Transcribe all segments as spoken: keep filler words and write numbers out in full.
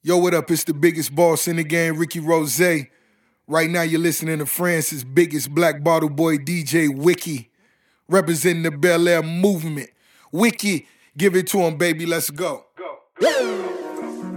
Yo, what up? It's the biggest boss in the game, Ricky Rose. Right now you're listening to France's biggest black bottle boy, D J Wiki, representing the Bel Air movement. Wiki, give it to him, baby. Let's go. Go. Go.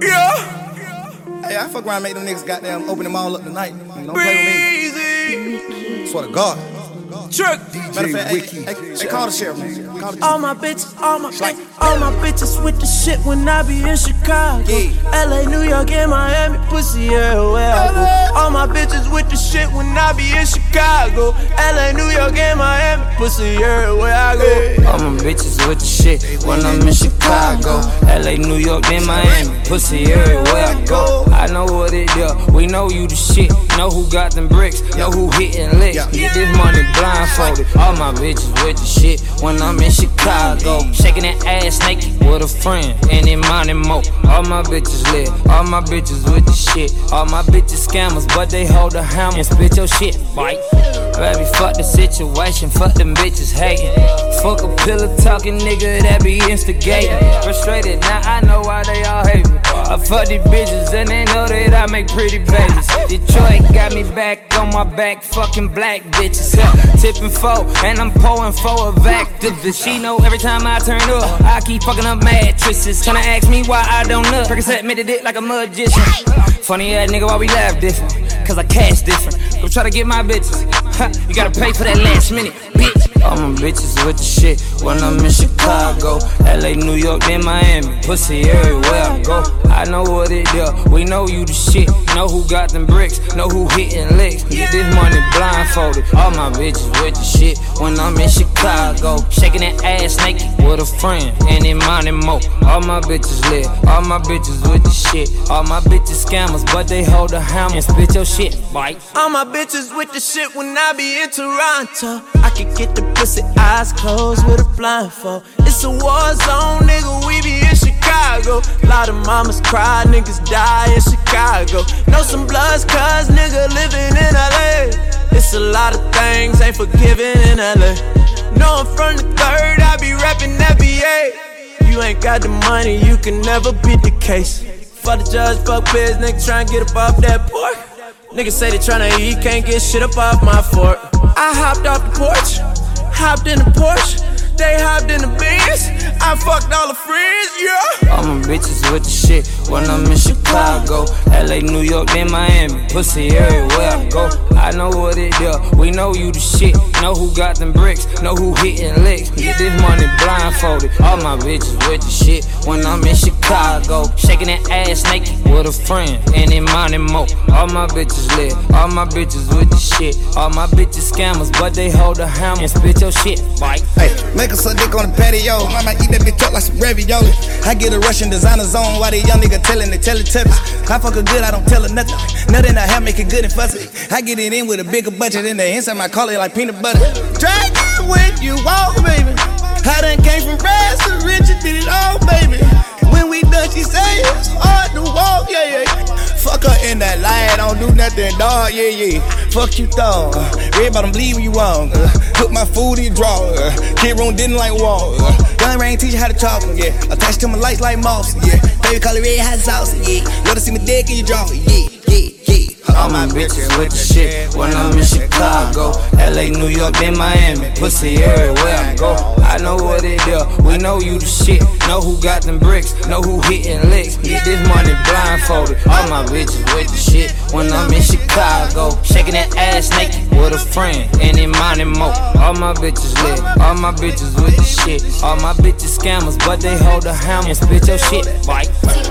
Yeah. Hey, I fuck around and make them niggas goddamn open them all up tonight. Don't play with me. Swear to God. Trick. D J fact, Wiki. Hey, hey, hey, call the sheriff, man. Call the All my bitches, all my like, all my bitches with the shit when I be in Chicago. Yeah. L A, New York, and Miami, pussy everywhere I go. All my bitches with the shit when I be in Chicago. L A, New York, and Miami, pussy everywhere I go. All my bitches with the shit when I'm in Chicago. L A, New York, then Miami, pussy everywhere I go. I know what it is, we know you the shit. Know who got them bricks, know who hitting licks. Get this money blindfolded. All my bitches with the shit when I'm in Chicago. Shaking that ass naked with a friend, and in money mo. All my bitches lit, all my bitches with the shit. All my bitches scammers, but they hold a hammer and spit your shit, bite. Baby, fuck the situation, fuck them bitches hating. Fuck a pillar talking nigga that be instigating. Frustrated, now I know why they all hate me. I fuck these bitches and they know that I make pretty babies. Detroit got me back on my back, fucking black bitches. Yeah, tipping four, and I'm pouring four of activists. She know every time I turn up, I keep fucking up mattresses. Tryna ask me why I don't look. Percocet made it like a magician. Funny ass nigga, why we laugh different? Cause I cash different. Go try to get my bitches. Ha, you gotta pay for that last minute, bitch. All my bitches with the shit when I'm in Chicago. L A, New York, then Miami, pussy everywhere I go. I know what it is, we know you the shit. Know who got them bricks, know who hitting licks. Get this money blindfolded. All my bitches with the shit when I'm in Chicago. Shaking that ass naked with a friend, and in money mo. All my bitches lit, all my bitches with the shit. All my bitches scammers, but they hold a hammer and spit your shit, bite. All my bitches with the shit when I be in Toronto. I can get the pussy eyes closed with a blindfold. It's a war zone, nigga, we be in Chicago. Lot of mamas cry, niggas die in Chicago. Know some bloods, cuz nigga living in L A. It's a lot of things ain't forgiven in L A. Know I'm from the third, I be rapping N B A. You ain't got the money, you can never beat the case. Fuck the judge, fuck biz, nigga tryna get up off that pork. Niggas say they tryna eat, can't get shit up off my fork. I hopped off the porch, hopped in the Porsche. They hopped in the Benz, I fucked all the friends, yeah. All my bitches with the shit when I'm in Chicago. L A, New York, then Miami, pussy everywhere I go. I know what it is, we know you the shit. Know who got them bricks, know who hitting licks. Get this money blindfolded. All my bitches with the shit when I'm in Chicago. Shaking that ass naked with a friend, and in money mo. All my bitches lit, all my bitches with the shit. All my bitches scammers, but they hold a hammer and spit your shit, bite. Hey, make a suck dick on the patio. Mama eat that bitch up like some ravioli. I get a Russian designer zone while they young nigga tellin' they tell it tubbies. I fuck her good, I don't tell her nothing. Nothing I have make it good and fussy. I get it in with a bigger budget in the inside my call it like peanut butter. Drag it when you walk, baby. I done came from rags to riches, did it all, baby. When we done, she say it's hard to walk, yeah, yeah. Fuck her in that line, don't do nothing, dog, yeah, yeah. Fuck you, thought. Red bottom, bleed when you wrong. Uh, put my food in your drawer. Uh, Kid room didn't like wall. Uh, gun rain teach you how to talk, yeah. Attached to my lights like moss, yeah. Baby call it red hot sauce, yeah. Let her see my dick in your jaw, yeah, yeah, yeah. All my bitches with the shit when I'm in Chicago. L A, New York, then Miami, pussy everywhere I go. I know what it is, we know you the shit. Know who got them bricks, know who hitting licks. Get this money blindfolded. All my bitches with the shit when I'm in Chicago. Shaking that ass naked with a friend, and in money mo. All my bitches lit, all my bitches with the shit. All my bitches scammers, but they hold a hammer and spit your shit, bite.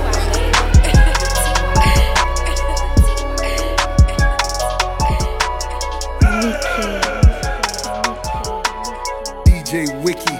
D J Wiki.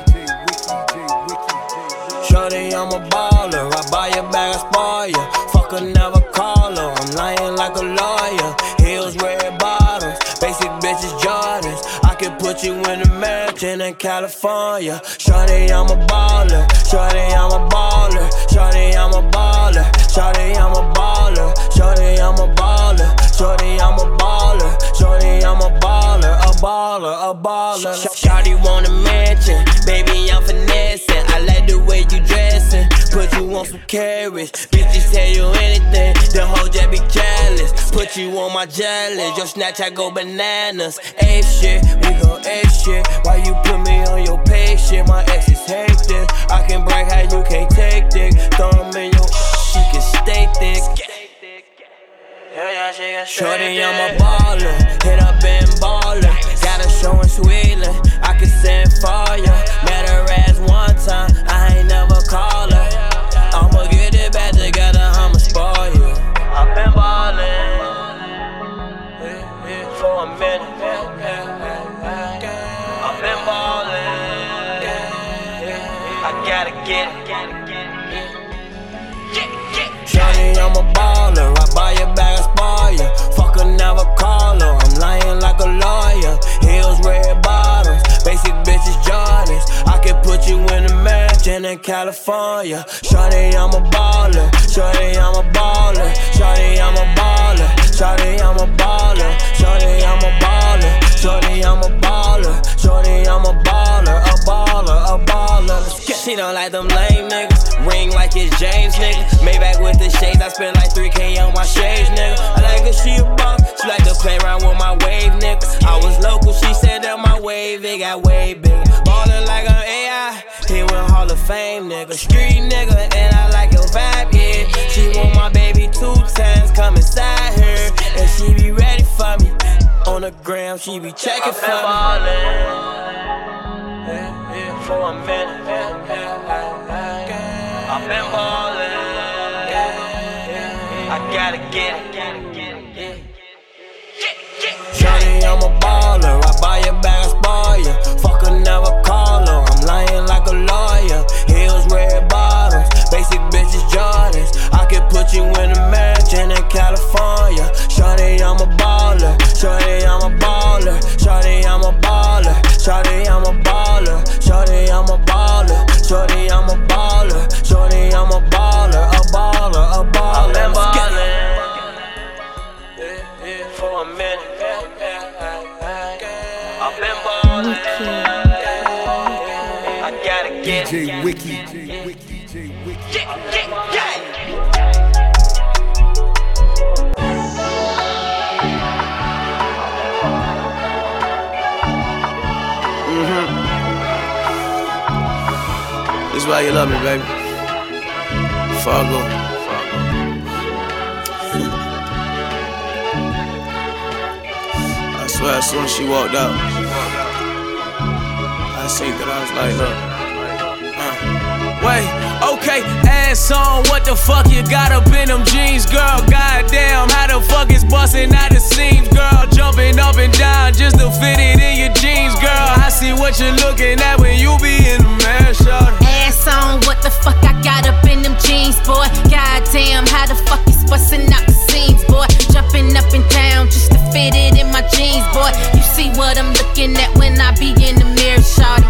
Shorty, I'm a baller. I buy your bag, I spoil ya. Fuck her, never call her. I'm lying like a lawyer. Heels, red bottoms. Basic bitches, Jordans. I could put you in a mansion in California. Shorty, I'm a baller. Shorty, I'm a baller. Shorty, I'm a baller. Shorty, I'm a baller. Shorty, I'm a baller. Shorty, I'm a baller. Shorty, I'm a baller. A baller, a baller. Shorty want a mansion. Baby, I'm finessing. I like the way you dressing. Put you on some carrots. Bitches tell you anything, the hoe just be careless. Put you on my jealous, your Snapchat go bananas. Ape shit, we go ape shit. Why you put me on your page shit? My exes hate this. I can break how you can't take dick. Throw them in your she can stay thick. Shorty, I'm a baller, hit up and baller. Got a show in Sweden, I can send for ya. Met her ass one time, I ain't never call her. I'ma get it back together, I'ma spoil you. I've been ballin' for a minute. I've been ballin', I gotta get it. Shawty, I'm a baller, I buy your bag, I spoil ya. Fuck her, never call her, I'm lying like a lawyer. Heels, red bottoms, basic bitches, Jordans. I can put you in a mansion in California. Shawty, I'm a baller, shawty, I'm a baller. Shawty, I'm a baller, shawty, I'm a baller. Shawty, I'm a baller, shawty, I'm a baller. Shawty, I'm a baller, a baller, a baller. She don't like them lame niggas, ring like it's James, nigga. Maybach with the shades, I spend like three K on my shades, nigga. I like her, she a bum, she like to play around with my wave, nigga. I was local, she said that my wave, it got way bigger. Ballin' like an A I, he went Hall of Fame, nigga. Street nigga, and I like your vibe, yeah. She want my baby two times, come inside her, and she be ready for me. On the gram, she be checking for me. For a minute, I've been ballin', I gotta get it. Shawty, I'm a baller, I buy your bag, I spoil ya. Fuck her, never call her, I'm lying like a lawyer. Heels, red bottoms, basic bitches, Jordans. I can put you in a mansion in California. Shawty, I'm a baller, shawty, I'm a baller. Shawty, I'm a baller, shawty, I'm a baller. Shawty, I'm a baller, shawty, I'm a baller. Shawty, I'm a baller, a baller, a baller. I've been ballin' for a minute. I've been ballin', I gotta get it. D J Wiki, D J Wiki. Yeah, yeah, yeah. This is why you love me, baby. Fargo. I swear, as soon as she walked out, I seen that I was like, look. Uh. Wait, okay, ass on, what the fuck you got up in them jeans, girl? Goddamn, how the fuck is bustin' out the seams, girl? Jumping up and down just to fit it in your jeans, girl. I see what you're looking at when you be in the man, shawty. Ass on, what the fuck I got up in them jeans, boy? Goddamn, how the fuck is bustin' out the seams, boy? Jumping up and down just to fit it in my jeans, boy. You see what I'm looking at when I be in the mirror, shawty.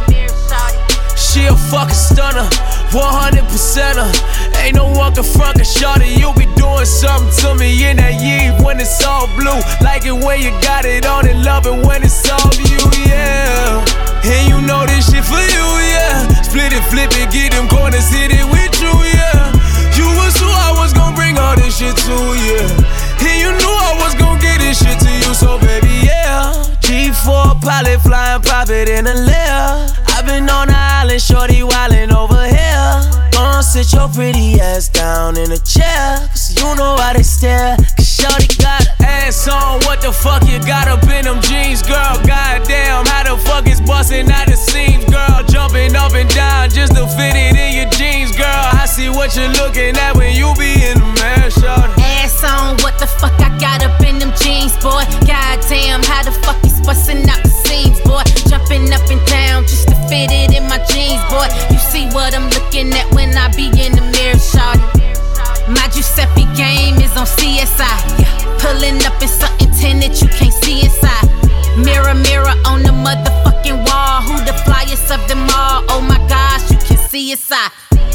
She a fucking stunner, one hundred percent her. Ain't no one can front her, shawty. You be doing something to me in that Yves when it's all blue. Like it when you got it on and love it when it's all you, yeah. And you know this shit for you, yeah. Split it, flip it, get them corners, hit it with you, yeah. You was who I was gon' bring all this shit to, yeah. And you knew I was gon' get this shit to you, so baby, yeah. G four pilot flying private in a lair. I've been on the island, shorty wildin' over here. Gonna sit your pretty ass down in a chair, cause you know how they stare. Cause shorty got her ass on, what the fuck you got up in them jeans, girl? Goddamn, how the fuck is bustin' out the seams, girl? Jumping up and down just to fit it in your jeans, girl. I see what you're looking at when you be in the man, shorty. Ass on, what the fuck I got up in them jeans, boy? Goddamn, how the fuck is bustin' out the seams, boy? Jumping up and down just to fit it in my jeans, boy. You see what I'm looking at when I be in the mirror, shawty. My Giuseppe game is on C S I. Pulling up in something tinted you can't see inside. Mirror, mirror on the motherfucking wall. Who the flyest of them all? Oh my gosh, you can see inside.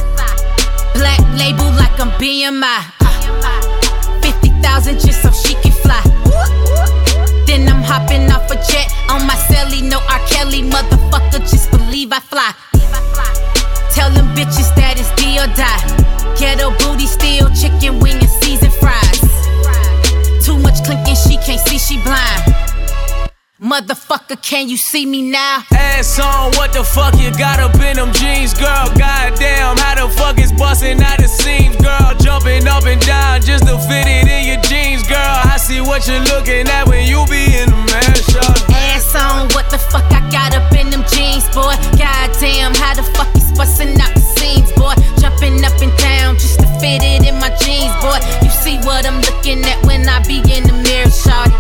Black label like I'm B M I. Uh, fifty thousand just so she can fly. Then I'm hopping off a jet on my celly. No R. Kelly, motherfucker, just believe I fly. Tell them bitches that it's D or die. Ghetto booty, still chicken wing and seasoned fries. Too much clinking, she can't see, she blind. Motherfucker, can you see me now? Ass on, what the fuck you got up in them jeans, girl? Goddamn, how the fuck is bustin' out the seams, girl? Jumping up and down just to fit it in your jeans, girl. I see what you're looking at when you be in the man shot. Ass on, what the fuck I got up in them jeans, boy? Goddamn, how the fuck is bustin' out the seams, boy? Jumping up and down just to fit it in my jeans, boy. You see what I'm looking at when I be in the mirror, shawty.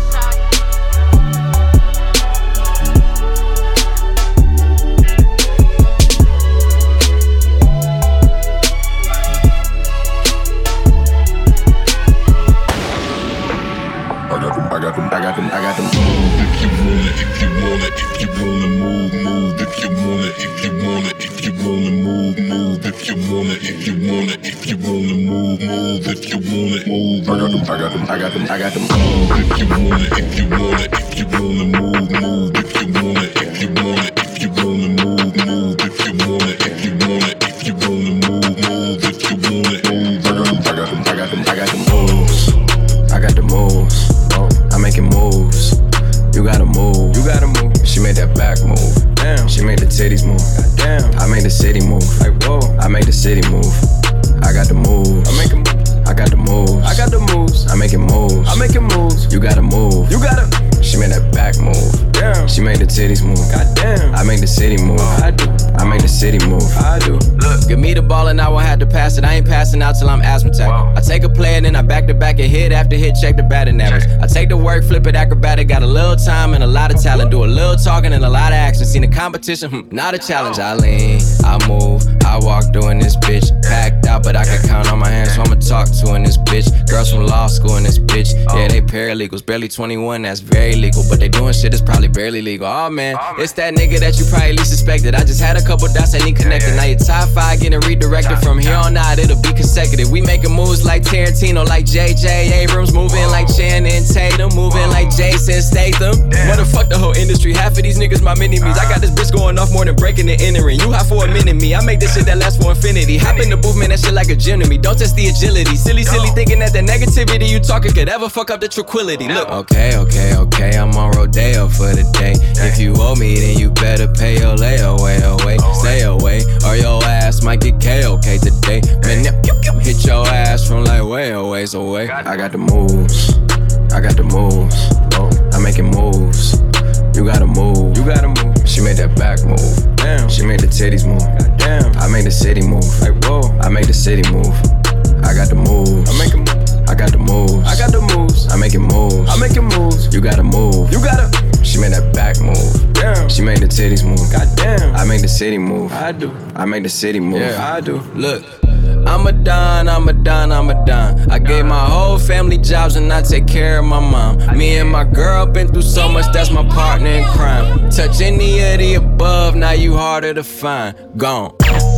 I got them, I got them, I got them moves. If you want it, if you want it, if you wanna move, move. If you want it, if you want it, if you wanna move, move. If you want it, if you want it, if you wanna move, move. If you want it, move. I got them, I got them, I got them, I got them moves. If you want it, if you want it, if you wanna move, move. If you want it, if you want it, if you wanna move, move. If you want it, if you want it, if you wanna move, move. If you want it, move. I got them, I got them, I got them, I got them moves. I got the moves. I'm making moves. You gotta move. You gotta move. She made that back move. Damn. She made the titties move. Damn. I made the city move. Like whoa. I made the city move. I got the moves. I'm making moves. I got the moves. I got the moves. I'm making moves. I'm making moves. You gotta move. You gotta. She made that back move. Damn. She made the titties move. Goddamn. I make the city move. I do. I make the city move. I do. Look, give me the ball and I won't have to pass it. I ain't passing out till I'm asthmatic. I take a play and then I back to back and hit after hit, check the batting average. I take the work, flip it acrobatic. Got a little time and a lot of talent. Do a little talking and a lot of action. Seen the competition, hmm, not a challenge. I lean, I move, I walk doing this bitch. Packed out, but I can count on my hands, so I'ma talk to in this bitch. Girls from law school in this bitch. Yeah, they paralegals, barely twenty-one, that's very legal. But they doing shit that's probably barely legal. Oh man, it's that nigga that you probably least suspected. I just had a couple dots I need connected. Now your top five getting redirected. From here on out, it'll be consecutive. We making moves like Tarantino, like J J Abrams. Moving like Channing Tatum, moving like Jason Statham. Motherfuck the whole industry, half of these niggas my mini-me's. I got this bitch going off more than breaking and entering. You hot for a minute, me, I make this shit that lasts for infinity. Hop in the booth, man, that shit like a gym to me. Don't test the agility. Silly, silly thinking that the negativity you talking could ever fuck up the tranquility. Look, okay, okay, okay, I'm on Rodeo for the day. If you owe me, then you better pay your layaway away. Stay away, or your ass might get K O K today. Man, hit your ass from like way a ways away. I got the moves. I got the moves. I'm making moves. You gotta move. You gotta move. She made that back move. Damn. She made the titties move. Damn. I made the city move. Like whoa. I made the city move. I got the moves. I'm making moves. I got the moves. I got the moves. I'm making moves. I'm making moves. You gotta move. You gotta. She made that back move. Damn. She made the titties move. Goddamn. I make the city move. I do. I make the city move. Yeah, I do. Look. I'm a don, I'm a don, I'm a don. I gave my whole family jobs and I take care of my mom. Me and my girl been through so much, that's my partner in crime. Touch any of the above, now you harder to find. Gone.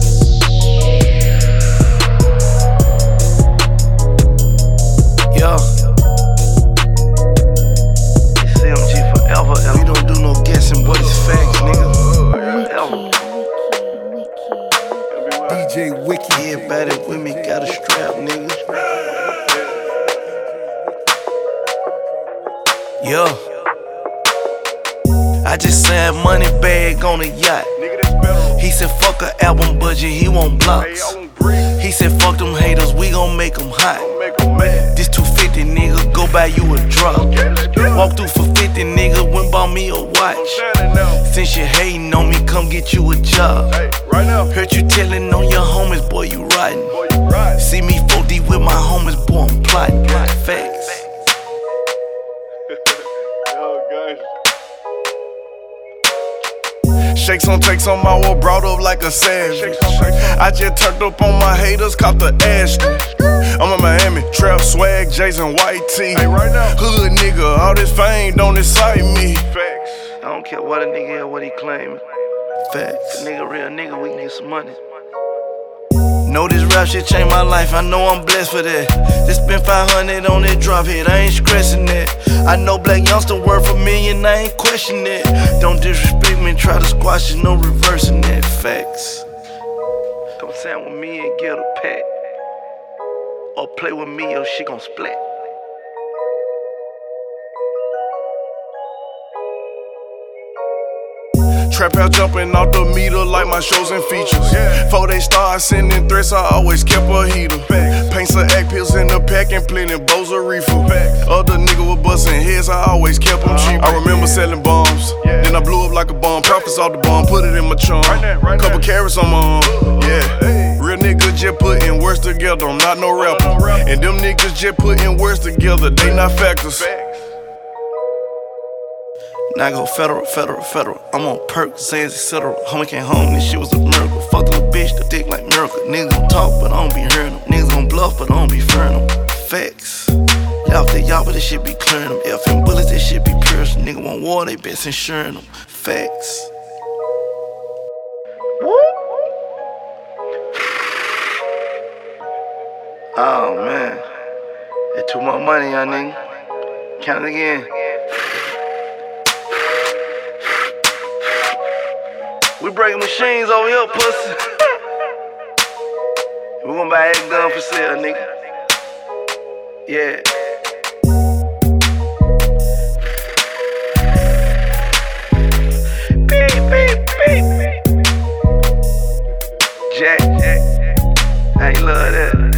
Yo. C M G forever, and we don't do no guessing, but it's facts, nigga. Ever. D J Wiki. Everybody with me got a strap, nigga. Yeah. I just signed money bag on a yacht. He said fuck a album budget, he want blocks. He said fuck them haters, we gon' make them hot. This two fifty nigga, go buy you a drop. Walk through for fifty nigga, went bought me a watch. Since you hating on me, come get you a job. Heard you telling on your homies, boy, you riding. See me four D with my homies, boy, I'm plotting. Facts. Shakes on takes on my wall, brought up like a savage. I just turned up on my haters, caught the ass. I'm in Miami, trap swag, Jason White tee. Hood nigga, all this fame don't excite me. Facts. I don't care what a nigga is, what he claiming. Facts. A nigga, real nigga, we can get some money. Know this rap shit changed my life, I know I'm blessed for that. Just spent five hundred on that drop hit, I ain't stressing that. I know black youngster worth a million, I ain't questioning it. Don't disrespect me, try to squash it, no reversing that. Facts. Come stand with me and get a pack. or play with me or she gon' split. Trap out jumping off the meter like my shows and features. Before they start sending threats, I always kept a heater. Paint some act pills in the pack and plenty bows of reefer. Other nigga was busting heads, I always kept them cheap. I remember selling bombs, then I blew up like a bomb. Profits off the bomb, put it in my charm. Couple carrots on my arm, yeah. Real niggas just putting words together, I'm not no rapper. And them niggas just putting words together, they not factors. Now I go federal, federal, federal. I'm on perk, Zans, et cetera. Homie came home, this shit was a miracle. Fuck the little bitch, the dick like miracle. Niggas gon' talk, but I don't be hearing them. Niggas gon' bluff, but I don't be fearing them. Facts. Left the y'all, but this shit be clearing them. Effing bullets, this shit be piercing. Nigga want war, they best insuring them. Facts. Oh man, that too much money, young nigga. Count it again. We breaking machines over here, pussy. We gon' buy that gun for sale, nigga. Yeah. Beep, beep, beep. Jack, Jack. I ain't love that.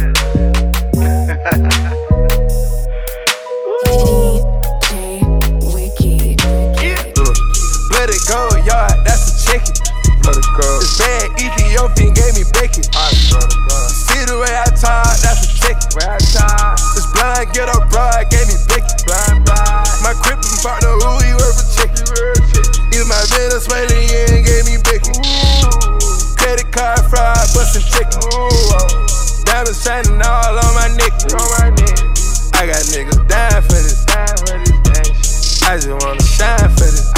D J Wicked. Yeah. Look, let it go, yard, that's a chicken. This bad Ethiopian gave me bacon. See the way I talk, that's a chicken. This blind ghetto broad gave me bacon. My crippin' partner, who he work for chicken. Even my Venezuelan gave me bacon. Credit card fraud, bustin' chicken. Diamonds shining all on my neck. I got niggas dying for this. I just wanna shine for this.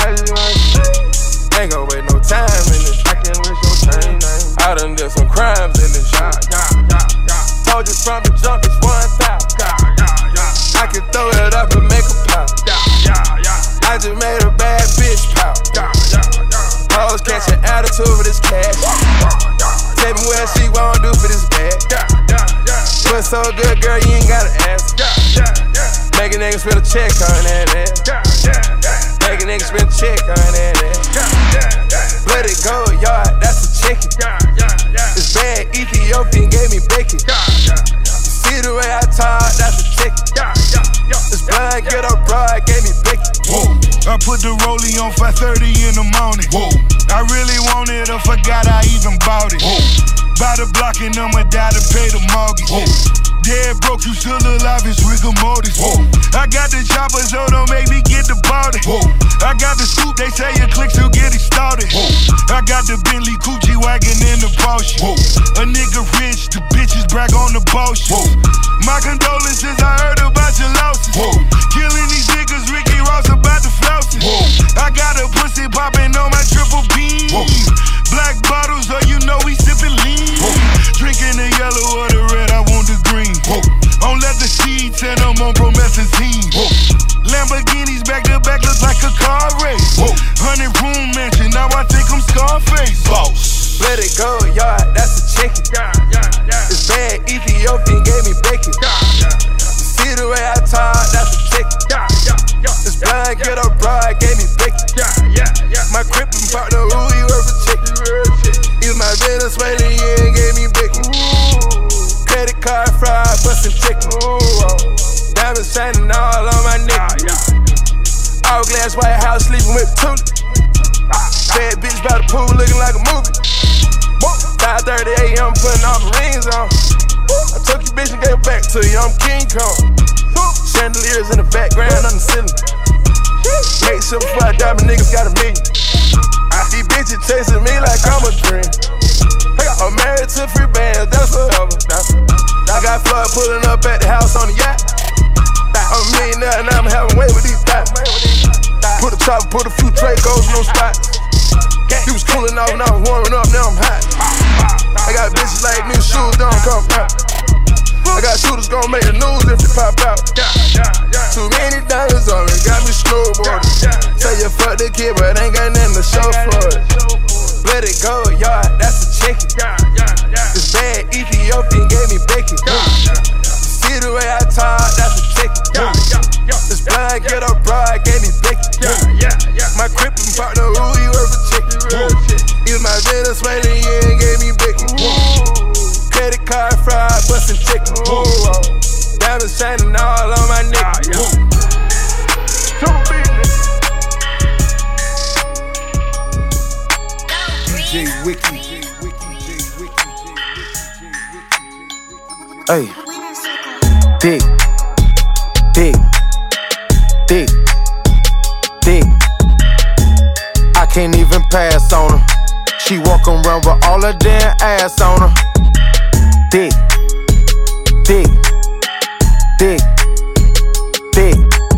Ain't gon' wait no time in this. I can't waste your time. I done did some crimes in this shit. Told you from the jump, it's one thousand. I can throw it up and make a pop. I just made a bad bitch pop. Hoes catching attitude for this cash. Tell me what she wanna do for this bag. But so good, girl, you ain't gotta ask. Make a nigga spend a check on that ass. Make a nigga spend a check on that ass. Let it go, yard, that's a chicken. This bad Ethiopian gave me bacon. See the way I talk, that's a chicken. This blind ghetto broad gave me bacon. Whoa, I put the rollie on five thirty in the morning. Whoa, I really wanted it, I forgot I even bought it. Whoa, by the block and I'ma die to pay the mortgage. Whoa, dead broke, you still alive, it's rigor mortis. Whoa, I got the chopper, so don't make me get the body. Whoa, I got the scoop, they say your clicks will get it started. Whoa, I got the Bentley Coochie wagon in the Porsche. Whoa, a nigga rich, the bitches brag on the bullshit. Whoa, my condolences, I heard about your losses. Whoa, killing these niggas, Ricky Ross about the flouses. Whoa, I got a pussy popping on my triple beam. Whoa, black bottles, so you know we sipping lean. Whoa, drinking the yellow or the red, I want the green. Whoa, on leather seats and I'm on promethazine. Whoa, Lamborghinis back to back look like a car race. Whoa, hundred room mansion, now I think I'm Scarface. Boss, let it go, yard, that's a chicken. This bad Ethiopian gave me bacon. See the way I talk, that's a chicken. This blind ghetto broad gave me bacon. My crippin' partner, who he work for chicken. Even my Venezuelan gave me bacon. Credit card fraud, bustin' chicken. Diamonds shining all on my neck. Hourglass White House sleeping with Tulip. Bad bitch by the pool looking like a movie. five thirty a.m. putting all the rings on. I took your bitch and gave it back to you, I'm King Kong. Chandeliers in the background on the ceiling. Make sure before I die, my niggas got a million. These bitches chasing me like I'm a dream. I'm married to free bands, that's forever. I got Floyd pulling up at the house on the yacht. I'm a millionaire and I'm having way with these thoughts. Put a chopper, put a few Dracos in those spots. He was cooling off, now I'm warming up, now I'm hot. I got bitches like me, shoes don't come out. I got shooters gon' make the news if they pop out. Too many diamonds on me, got me snowboarding. Say you fuck the kid, but ain't got nothing to show for it. Let it go, yard, that's a chicken. This bad Ethiopian gave me bacon. blicky. This blind get up ride, gave me blicky. My crib and partner, who he worth a chicken. Use my Venezuelan, yeah, and gave me blicky. Credit card fried, bustin' chicken. Diamonds shining all on my neck. D J Wiki. Hey, dick, dick, dick, dick. I can't even pass on her. She walk around with all her damn ass on her. Dick, dick, dick, dick.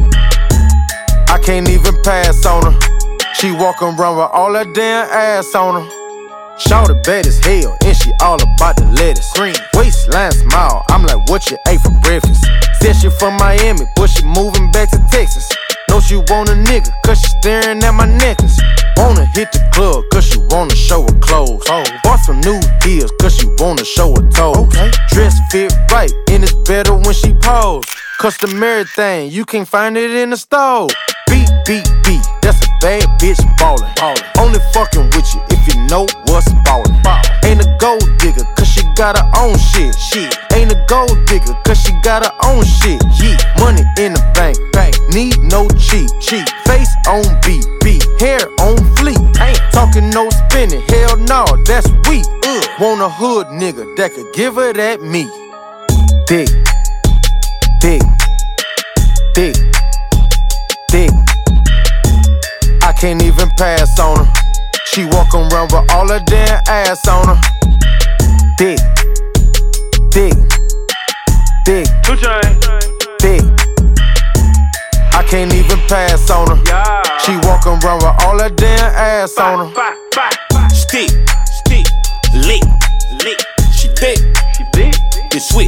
I can't even pass on her. She walk around with all her damn ass on her. Shawty bad as hell, and she all about the lettuce. Green waistline smile, I'm like, what you ate for breakfast? Said she from Miami, but she moving back to Texas. Know she want a nigga, cause she staring at my necklace. Wanna hit the club, cause she wanna show her clothes. Oh. Bought some new heels, cause she wanna show her toes. Okay. Dress fit right, and it's better when she pose. Customary thing, you can't find it in the store. Beat, beat, beat, that's a bad bitch ballin'. ballin'. Only fucking with you if you know what's ballin'. Ball. Ain't a gold digger, cause she got her own shit. shit. Ain't a gold digger, cause she got her own shit. Yeah. Money in the bank, bank. Need no cheat, cheat. Face on beat, beat. Hair on fleek. Ain't talking no spinning, hell no, that's weak. Ugh. Want a hood nigga that could give her that meat. Dick, dick, dick, dick. I can't even pass on her. She walk around with all her damn ass on her. Dick, dick, dick, dick. I can't even pass on her. She walk around with all her damn ass on her. Stick, stick, lick, lick. She thick, she thick. Then switch.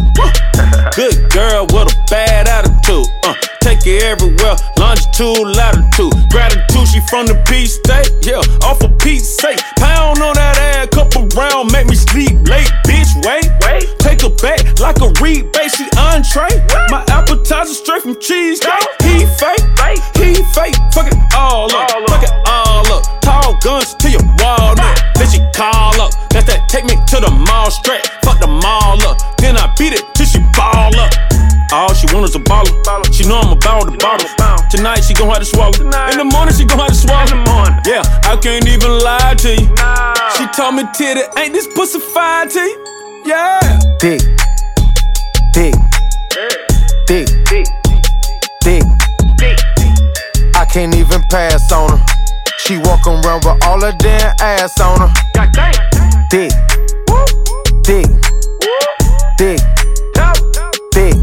Good girl with a bad attitude. Uh, take it everywhere, longitude, latitude. Gratitude, she from the Peace State. Yeah, off of Pete's sake. Pound on that ass, couple round, make me sleep late. Bitch, wait, wait. Take her back like a rebate, she entree. What? My appetizer straight from cheesecake. He fake, fake, he fake. Fuck it all up, all fuck up. it all up. Tall guns to your walnut. Then she call up. That's that take me to the mall straight. Fuck the mall up. Then I beat it till she ball up. All she want is a baller. She know I'm about the bottle. Tonight she gon' have to swallow. In the morning she gon' have to swallow. Yeah, I can't even lie to you. She told me, titty, ain't this pussy fine to you? Yeah. Dick, dick, dick, dick, dick. I can't even pass on her. She walk around with all her damn ass on her. Dick, dick, dick, dick.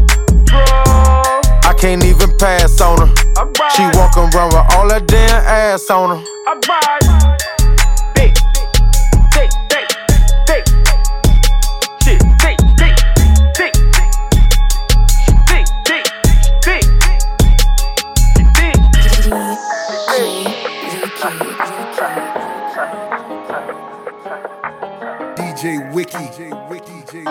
I can't even pass on her. She walk around with all her damn ass on her. Dick, dick, dick, dick. Shit, dick, dick, dick, dick, dick, dick, D J Wiki. D J Wiki. D J Wiki.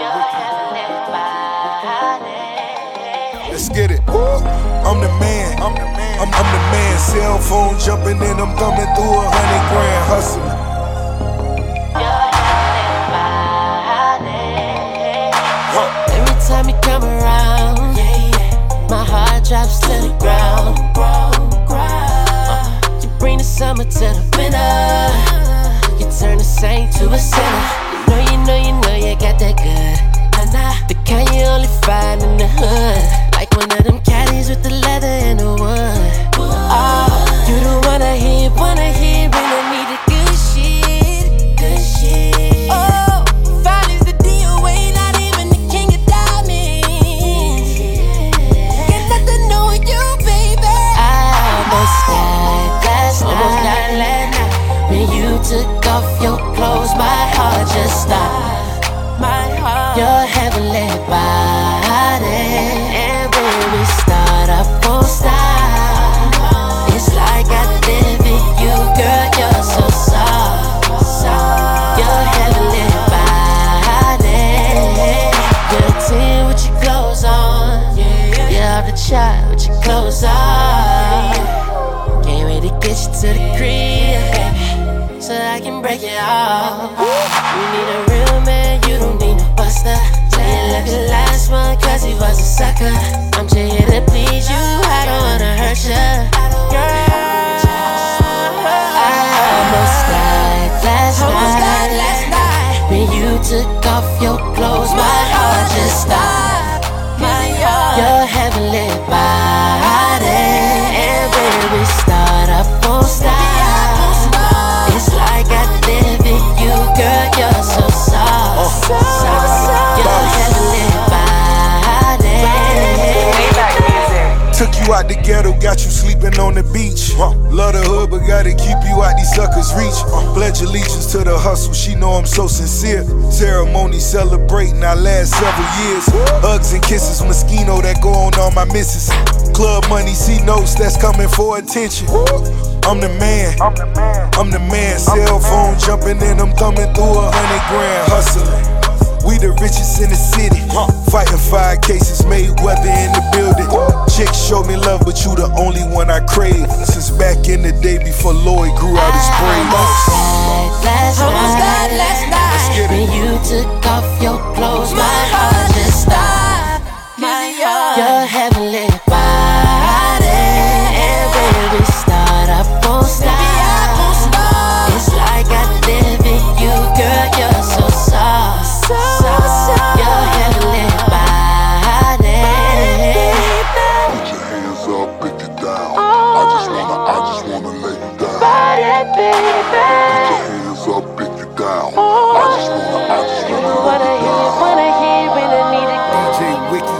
Let's get it. I'm the man. I'm the man. I'm, I'm the man. Cell phone jumping in. I'm thumbing through a hundred grand hustling. Every time you come around, yeah, yeah, my heart drops to the ground. Uh, you bring the summer to the winter. You turn the saint to a sinner. You know, you know, you know you got that good. Nah, nah, the kind you only find in the hood. Like one of them caddies with the leather and the wood. Oh, you the one I hear, wanna hear, and I need the good shit, good shit. Oh, fine is the D O A, not even the king of diamonds. Get nothing on you, baby. I almost died last night, almost died last night. When you took off your clothes, my heart just stopped. My heart, your heavenly body. And when we start, I won't stop. It's like I live in you, girl, you're so soft. Your heavenly body. You're a ten with your clothes on. You're off the take it all. You need a real man, you don't need a buster. Say it like the last one, cause he was a sucker. I'm just here to please you, I don't wanna hurt ya. Girl, I almost died last night. When you took off your clothes, my heart just stopped. Your heavenly body, and when we start, I won't stop. It's like I live in you, girl, you're so soft. So soft. Your heavenly body. Took you out the ghetto, got you sleeping on the beach. Uh, love the hood, but gotta keep you out these suckers' reach. Uh, pledge allegiance to the hustle, she know I'm so sincere. Ceremony celebrating our last several years. Hugs and kisses, Moschino that go on all my misses. Club money, see notes that's coming for attention. I'm the man, I'm the man. Cell phone jumping in, I'm thumbing through a hundred grand. Hustling, we the richest in the city. Fighting five cases, made weather in the building. Chicks show me love, but you the only one I crave. Since back in the day before Lloyd grew out his braids. Almost died last night. When you took off your clothes, my heart just stopped. Your heavenly body, and when we start, I won't stop. It's like I live in you, girl, you're so soft. Your heavenly body. Put your hands up, pick it down. I just wanna, I just wanna lay you down. Put your hands up, pick it down. I just wanna, I just wanna lay you down. Wanna hear when I need a D J Wiki.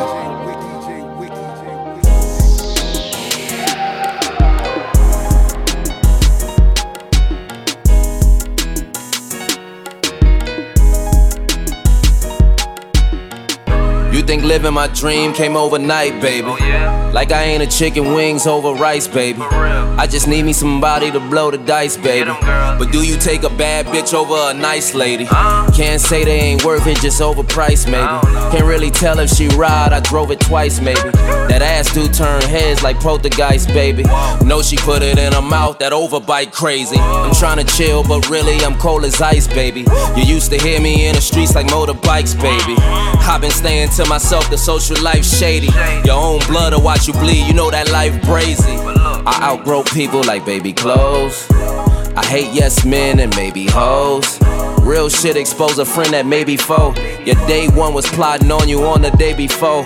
You think living my dream came overnight, baby? Oh, yeah? Like I ain't a chicken wings over rice, baby. I just need me somebody to blow the dice, baby. But do you take a bad bitch over a nice lady? Uh, Can't say they ain't worth it, just overpriced, maybe. Can't really tell if she ride, I drove it twice, maybe. That ass do turn heads like poltergeist, baby. Know she put it in her mouth, that overbite crazy. I'm tryna chill, but really I'm cold as ice, baby. You used to hear me in the streets like motorbikes, baby. I've been staying to myself, the social life shady. Your own blood will watch you bleed, you know that life crazy. I outgrow people like baby clothes. I hate yes men and maybe hoes. Real shit expose a friend that may be foe. Your day one was plotting on you on the day before.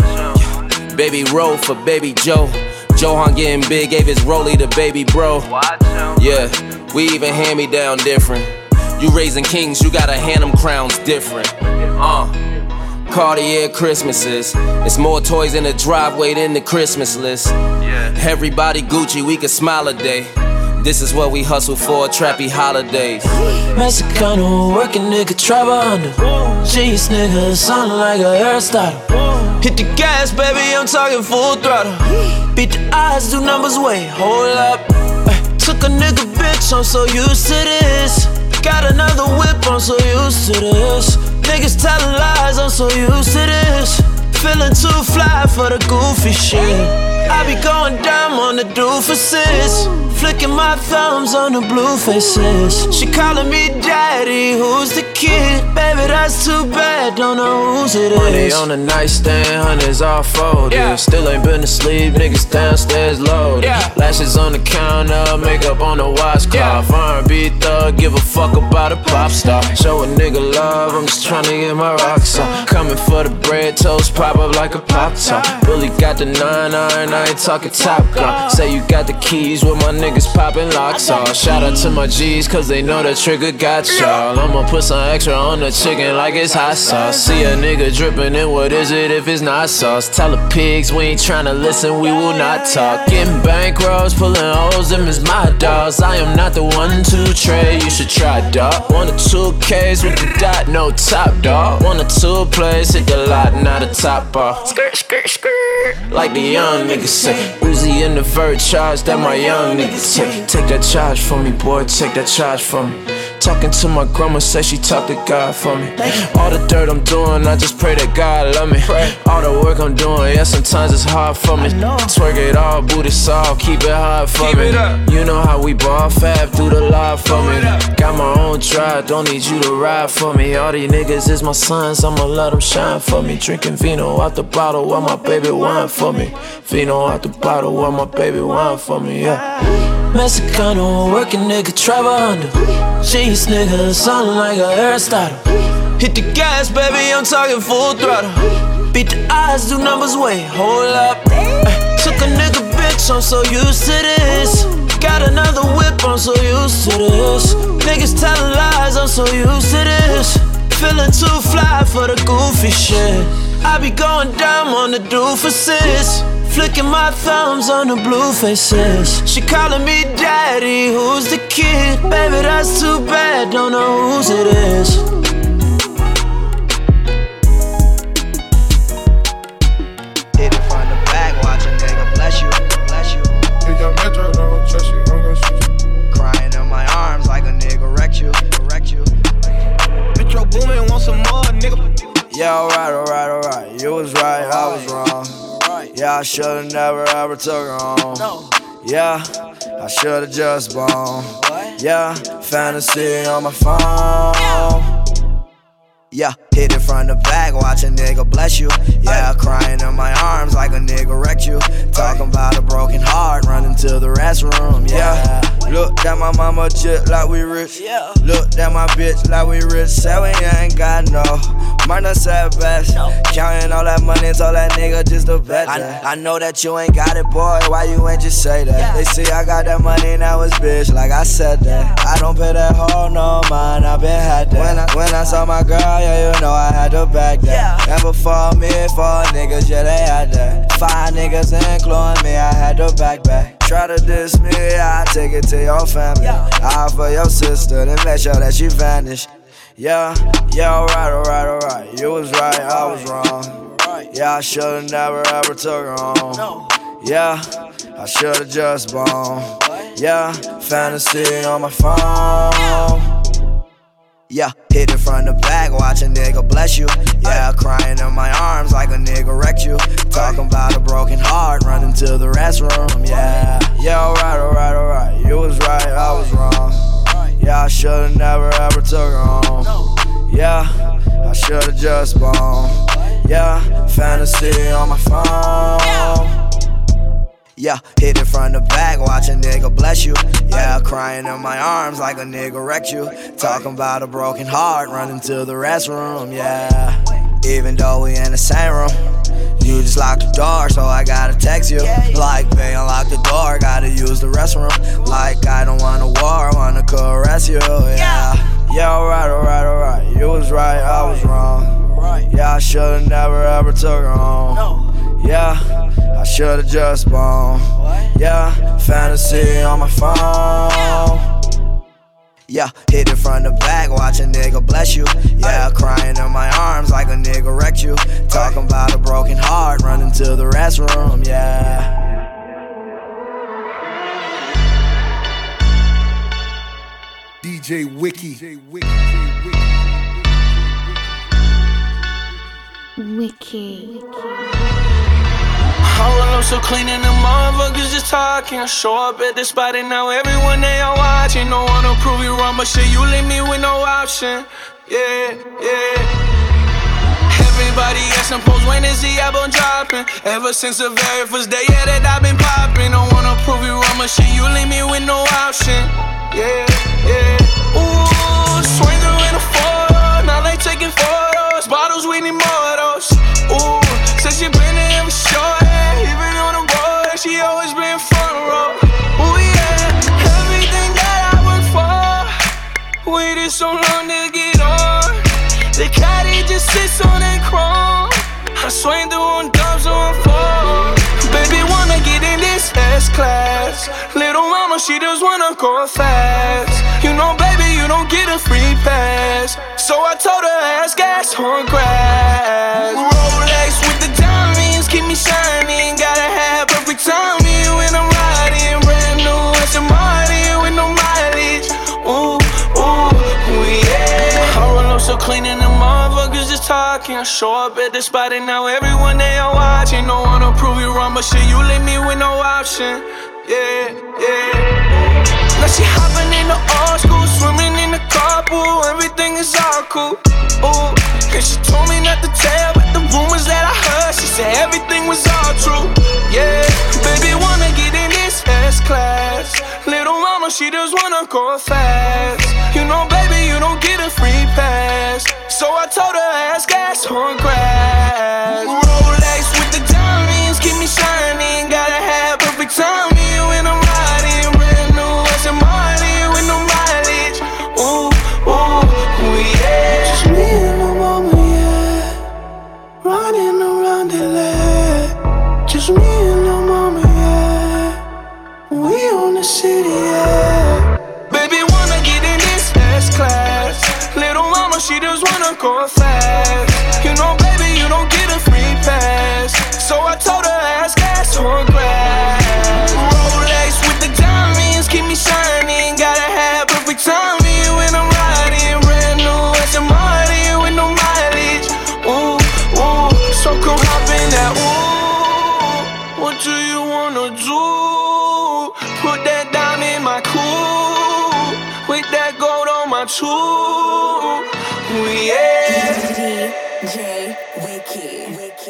Baby roll for baby Joe. Johan getting big, gave his rollie to baby bro. Yeah, we even hand me down different. You raising kings, you gotta hand them crowns different. Uh Cartier Christmases. It's more toys in the driveway than the Christmas list. Everybody Gucci, we can smile a day. This is what we hustle for, trappy holidays. Mexicano working nigga, travel under. Jeez nigga, sounding like a hairstyle. Hit the gas, baby, I'm talking full throttle. Beat the odds, do numbers way, hold up. Ay, took a nigga bitch, I'm so used to this. Got another whip, I'm so used to this. Niggas telling lies, I'm so used to this. Feeling too fly for the goofy shit. I be going dumb on the doofuses. Flicking my thumbs on the blue faces. She calling me daddy, who's the kid? Baby, that's too bad, don't know whose it is. Money on the nightstand, hundreds all folded. Yeah. Still ain't been asleep, niggas downstairs loaded. Yeah. Lashes on the counter, makeup on the watch clock. Yeah. R and B thug, give a fuck about a pop star. Show a nigga love, I'm just tryna get my rocks on. Coming for the bread, toast pop up like a pop top. Really got the nine iron, I ain't talking top gun. Say you got the keys with my niggas popping locks off. Shout out to my G's, cause they know the trigger got y'all. I'ma put some extra on the chicken like it's hot sauce. See a nigga dripping in, what is it if it's not sauce? Tell the pigs we ain't tryna listen, we will not talk. Getting bankrolls, pulling hoes, them is my dogs. I am not the one to trade, you should try, dog. One or two K's with the dot, no top, dog. One or two plays, hit the lot, not a top bar. Skirt, skirt, skirt. Like the young niggas say, Uzi in the vert charge, that my young niggas take. Take that charge from me, boy, take that charge from me. Talking to my grandma, say she talk to God for me. All the dirt I'm doing, I just pray that God love me. All the work I'm doing, yeah, sometimes it's hard for me. Twerk it all, booty soft, keep it hard for me. You know how we ball fab, do the live for me. Got my own drive, don't need you to ride for me. All these niggas is my sons, I'ma let them shine for me. Drinking vino out the bottle while my baby wine for me. Vino out the bottle while my baby wine for me, yeah. Mexicano, working nigga, travel under. Cheese nigga, sounding like a Aristotle. Hit the gas, baby, I'm talking full throttle. Beat the odds, do numbers, wait, hold up. Ay, took a nigga, bitch, I'm so used to this. Got another whip, I'm so used to this. Niggas telling lies, I'm so used to this. Feeling too fly for the goofy shit. I be going down on the doofuses. Flicking my thumbs on the blue faces. She calling me daddy, who's the kid? Baby, that's too bad, don't know whose it is. Hit it from the back, watch a nigga bless you, bless you. Pick up Metro, don't trust you, I'm gonna shoot you. Crying in my arms like a nigga wrecked you, wrecked you. Metro Boomin, want some more, nigga. Yeah, alright, alright, alright. You was right, I was wrong. Yeah, I should've never ever took her home. Yeah, I should've just blown. Yeah, fantasy on my phone. Yeah, hit it from the back, watch a nigga bless you. Yeah, crying in my arms like a nigga wrecked you. Talking about a broken heart, running to the restroom. Yeah, look at my mama just like we rich. Look at my bitch like we rich. Say we ain't got no money, said best. Counting all that money, told that nigga just to bet that. I, I know that you ain't got it, boy, why you ain't just say that? They see I got that money, now it's bitch, like I said that. I don't pay that hoe no mind, I been had that. When I, when I saw my girl, yeah, you know I had to back that. And before me, four niggas, yeah, they had that. Five niggas including me, I had to back back. Try to diss me, I take it to your family. I for your sister, then make sure that she vanished. Yeah, yeah, alright, alright, alright. You was right, I was wrong. Yeah, I should've never ever took her home. Yeah, I should've just blown. Yeah, fantasy on my phone. Yeah, hit it from the back, watch a nigga bless you. Yeah, crying in my arms like a nigga wrecked you. Talking about a broken heart, running to the restroom. Yeah, yeah, alright, alright, alright. You was right, I was wrong. Yeah, I should've never ever took her home. Yeah, I should've just blown. Yeah, fantasy on my phone. Yeah, hit it from the back, watch a nigga bless you. Yeah, crying in my arms like a nigga wrecked you. Talking about a broken heart, running to the restroom. Yeah, even though we in the same room, you just locked the door, so I gotta text you. Like, babe, unlock the door, gotta use the restroom. Like, I don't want a war, I wanna caress you. Yeah, yeah, alright, alright, alright. You was right, I was wrong. Yeah, I should've never ever took her home. Yeah, I should've just blown. Yeah, fantasy on my phone. Yeah, hit it from the back, watch a nigga bless you. Yeah, crying in my arms like a nigga wrecked you. Talking about a broken heart, running to the restroom. Yeah. D J Wiki. Wiki. I roll up so clean and the motherfuckers just talking. I show up at the spot and now everyone they are watching. No one to prove you wrong, but shit, you leave me with no option. Yeah, yeah. Everybody asking post, when is the album dropping? Ever since the very first day, yeah, that I've been popping. Don't wanna prove you wrong, but shit, you leave me with no option. Yeah, yeah. Ooh, swing through in a photo, now they taking photos. Bottles, we need more of those. Ooh, since you been there every show, yeah. Even on the road, she always been front row. Ooh, yeah, everything that I work for, waited so long to get on. The caddy just sits on that chrome. I swing through on dubs on four. Baby wanna get in this S-class. Little mama, she just wanna go fast. You know, baby, you don't get a free pass. So I told her, ass gas on grass. Rolex with the diamonds, keep me shining. Gotta have perfect timing when I'm riding. Brand new Aston Martin with no mileage. Ooh, ooh. talking. I show up at the spot and now everyone they are watching. Don't wanna prove you wrong, but shit, you leave me with no option. Yeah, yeah. Now she hopping in the old school, swimming in the carpool. Everything is all cool. Ooh. And she told me not to tell, but the rumors that I heard, she said everything was all true. Yeah, baby wanna get in this S-class. Little mama, she just wanna go fast. You know, baby, you don't get a free pass. So I told her ask gas on grass. Rolex with the diamonds, keep me shining. Gotta have perfect timing when I'm riding. Brand new Aston Martin with no mileage. Ooh, ooh, ooh, yeah. Just me and my mama, yeah. Running around the land. Just me and my mama, yeah. We on the city, yeah. Baby wanna get in this S-class. Little mama, she just wanna go fast. You know, baby, you don't get a free pass. So I told her ask gas on grass. Rolex with the diamonds, keep me shining. Gotta have perfect timing when I'm riding. Brand new Aston Martin with no mileage. Ooh, ooh, so come hop in that. Ooh, what do you wanna do? Put that dime in my coupe, with that gold on my tube. Yeah. D J Wiki.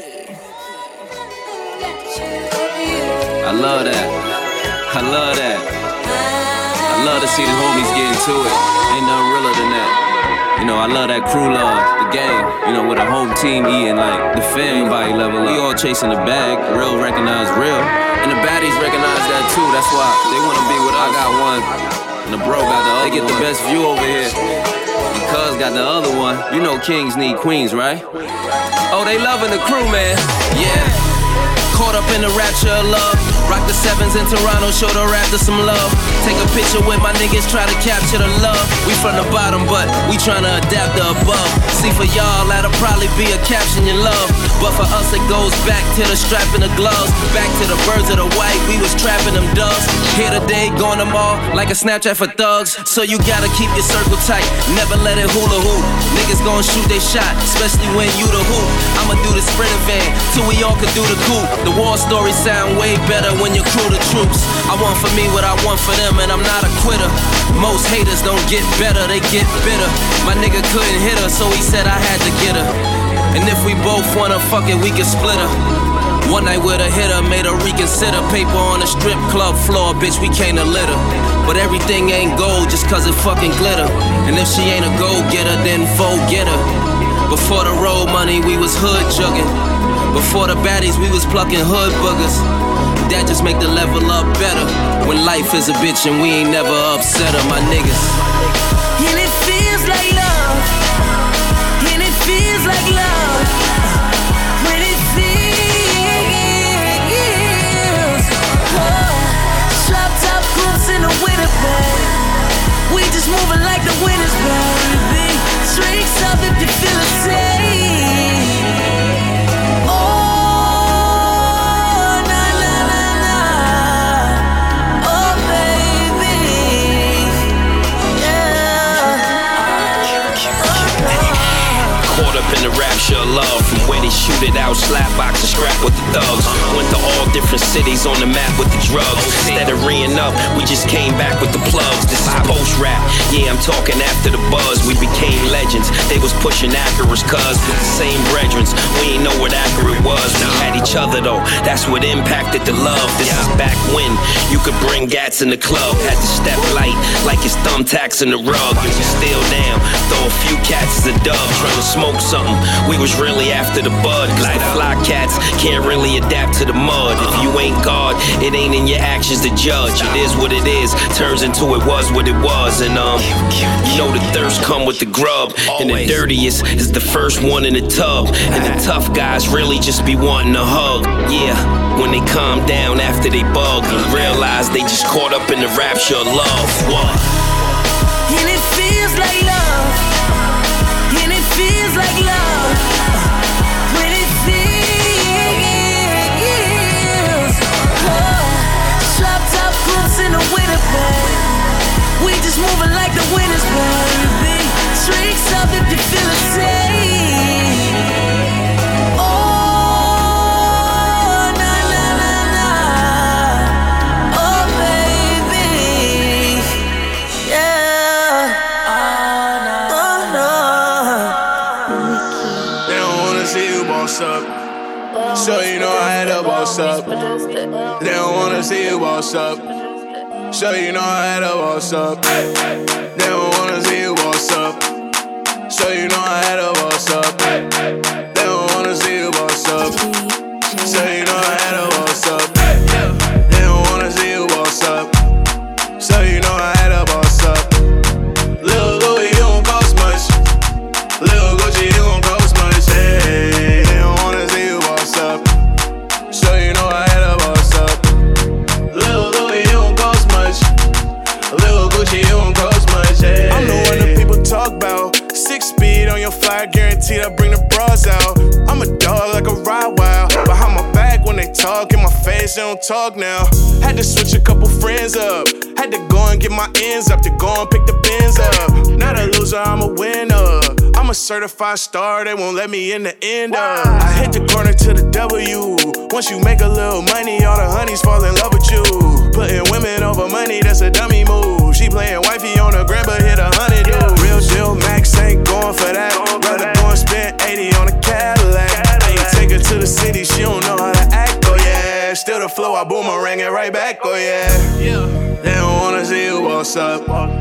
I love that. I love that. I love to see the homies get into it. Ain't nothing realer than that. You know, I love that crew love, the game. You know, with a whole team eating like the fam body level. We all chasing the bag. Real recognize real. And the baddies recognize that too. That's why they wanna be with us. I got one. And the bro got the other. They get the best view over here. And cuz got the other one. You know kings need queens, right? Oh, they loving the crew, man. Yeah. Caught up in the rapture of love. Rock the sevens in Toronto, show the Raptors some love. Take a picture with my niggas, try to capture the love. We from the bottom, but we tryna adapt the above. See, for y'all, that'll probably be a caption you love. But for us, it goes back to the strap and the gloves. Back to the birds of the white, we was trapping them doves. Here today, going them all like a Snapchat for thugs. So you gotta keep your circle tight, never let it hula hoop. Niggas gon' shoot they shot, especially when you the hoop. I'ma do the sprinter van, till we all can do the coupe. The war stories sound way better when you crew the troops. I want for me what I want for them, and I'm not a quitter. Most haters don't get better, they get bitter. My nigga couldn't hit her, so he said I had to get her. And if we both wanna fuck it, we can split her. One night with a hitter, made her reconsider. Paper on the strip club floor, bitch, we came to litter. But everything ain't gold just cause it fucking glitter. And if she ain't a go-getter, then forget her. Before the road money, we was hood jugging. Before the baddies, we was plucking hood boogers. That just make the level up better. When life is a bitch and we ain't never upset her, my niggas. And it feels like love. And it feels like love. When it feels. Oh, drop top boots in the winter, babe. We just moving like the winners, baby. Drinks up if you feel the same. In the rapture of love, from where they shoot it out, slap box and scrap with the thugs. Went to all different cities on the map with the drugs. Instead of reeing up, we just came back with the plugs. This is post rap, yeah, I'm talking after the buzz. We became legends, they was pushing Acura's cuz with the same brethrens. We ain't know what Acura was. We had each other though, that's what impacted the love. This is back when you could bring gats in the club. Had to step light like it's thumbtacks in the rug. And we still down, throw a few cats as a dub, trying to smoke something. We was really after the bud. Like fly cats can't really adapt to the mud. If you ain't God, it ain't in your actions to judge. It is what it is, turns into it was what it was. And um, you know the thirst come with the grub. And the dirtiest is the first one in the tub. And the tough guys really just be wanting a hug. Yeah, when they calm down after they bug and realize they just caught up in the rapture of love. What? And it feels like love. And it feels like love. When it feels. Oh, drop top boots in the winter, babe. We just moving like the winners, baby. Drinks up if you feel the same. wanna see you boss up. So you know I had to boss up. They don't wanna see you boss up. So you know I had to boss up. They don't wanna see you boss up. So you know I had to boss up. They don't wanna see you boss up. So you know I had to boss up. They don't wanna see you boss up. So you know I had to boss up. Lil' Louis, you don't cost much. Lil' Gucci, you don't cost much. Hey, they don't wanna see you boss up. So you know I had to boss up. Lil' Louis, you don't cost much. Lil' Gucci, you don't cost much. Hey. I'm the one that people talk about. Six speed on your fly, guaranteed I bring the bras out. I'm a dog like a ride wild. Behind my back when they talk, in my face they don't talk now. Had to switch a couple friends up. Had to go and get my ends up. To go and pick the bins up. Not a loser, I'm a winner. I'm a certified star, they won't let me in the end up. I hit the corner to the W. Once you make a little money, all the honeys fall in love with you. Putting women over money, that's a dummy move. She playing wifey on the gram, but hit a hundred dude. Real deal, Max ain't going for that. Rather go and spend eighty on a Cadillac. I ain't take her to the city, she don't know how to act, oh yeah. Still the flow, I boomerang it right back, oh yeah. They don't wanna see you boss up.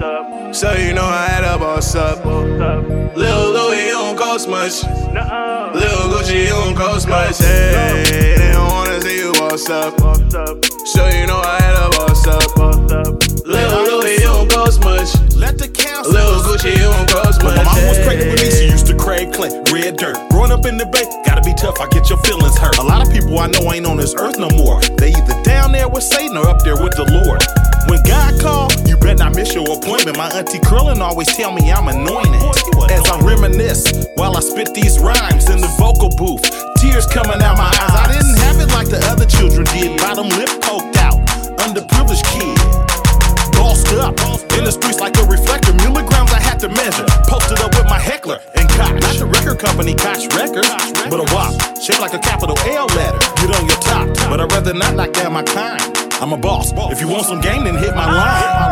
So you know I had to boss up. Lil' Louis, you don't cost much. Lil' Gucci, you don't cost much. Hey, they don't wanna see you boss up. So you know I had to boss up. Lil' Louis, you don't cost much. Let the council. Lil' Gucci, you don't cost much. When my mom was pregnant with me, she used to crave Clint, red dirt. Growing up in the Bay, gotta be tough, I get your feelings hurt. A lot of people I know ain't on this earth no more. They either down there with Satan or up there with the Lord. When God call, you better not miss your appointment. My auntie Curlin always tell me I'm anointed. As I reminisce while I spit these rhymes in the vocal booth, tears coming out my eyes. I didn't have it like the other children did. Bottom lip poked out, underprivileged kid. Bossed up in the streets like a reflector. Milligrams I had to measure. Posted up with my heckler and Koch. Not the record company, Koch Records, but a W A P shaped like a capital L letter. Get on your top, but I'd rather not knock down my kind. I'm a boss. If you want some game, then hit my line.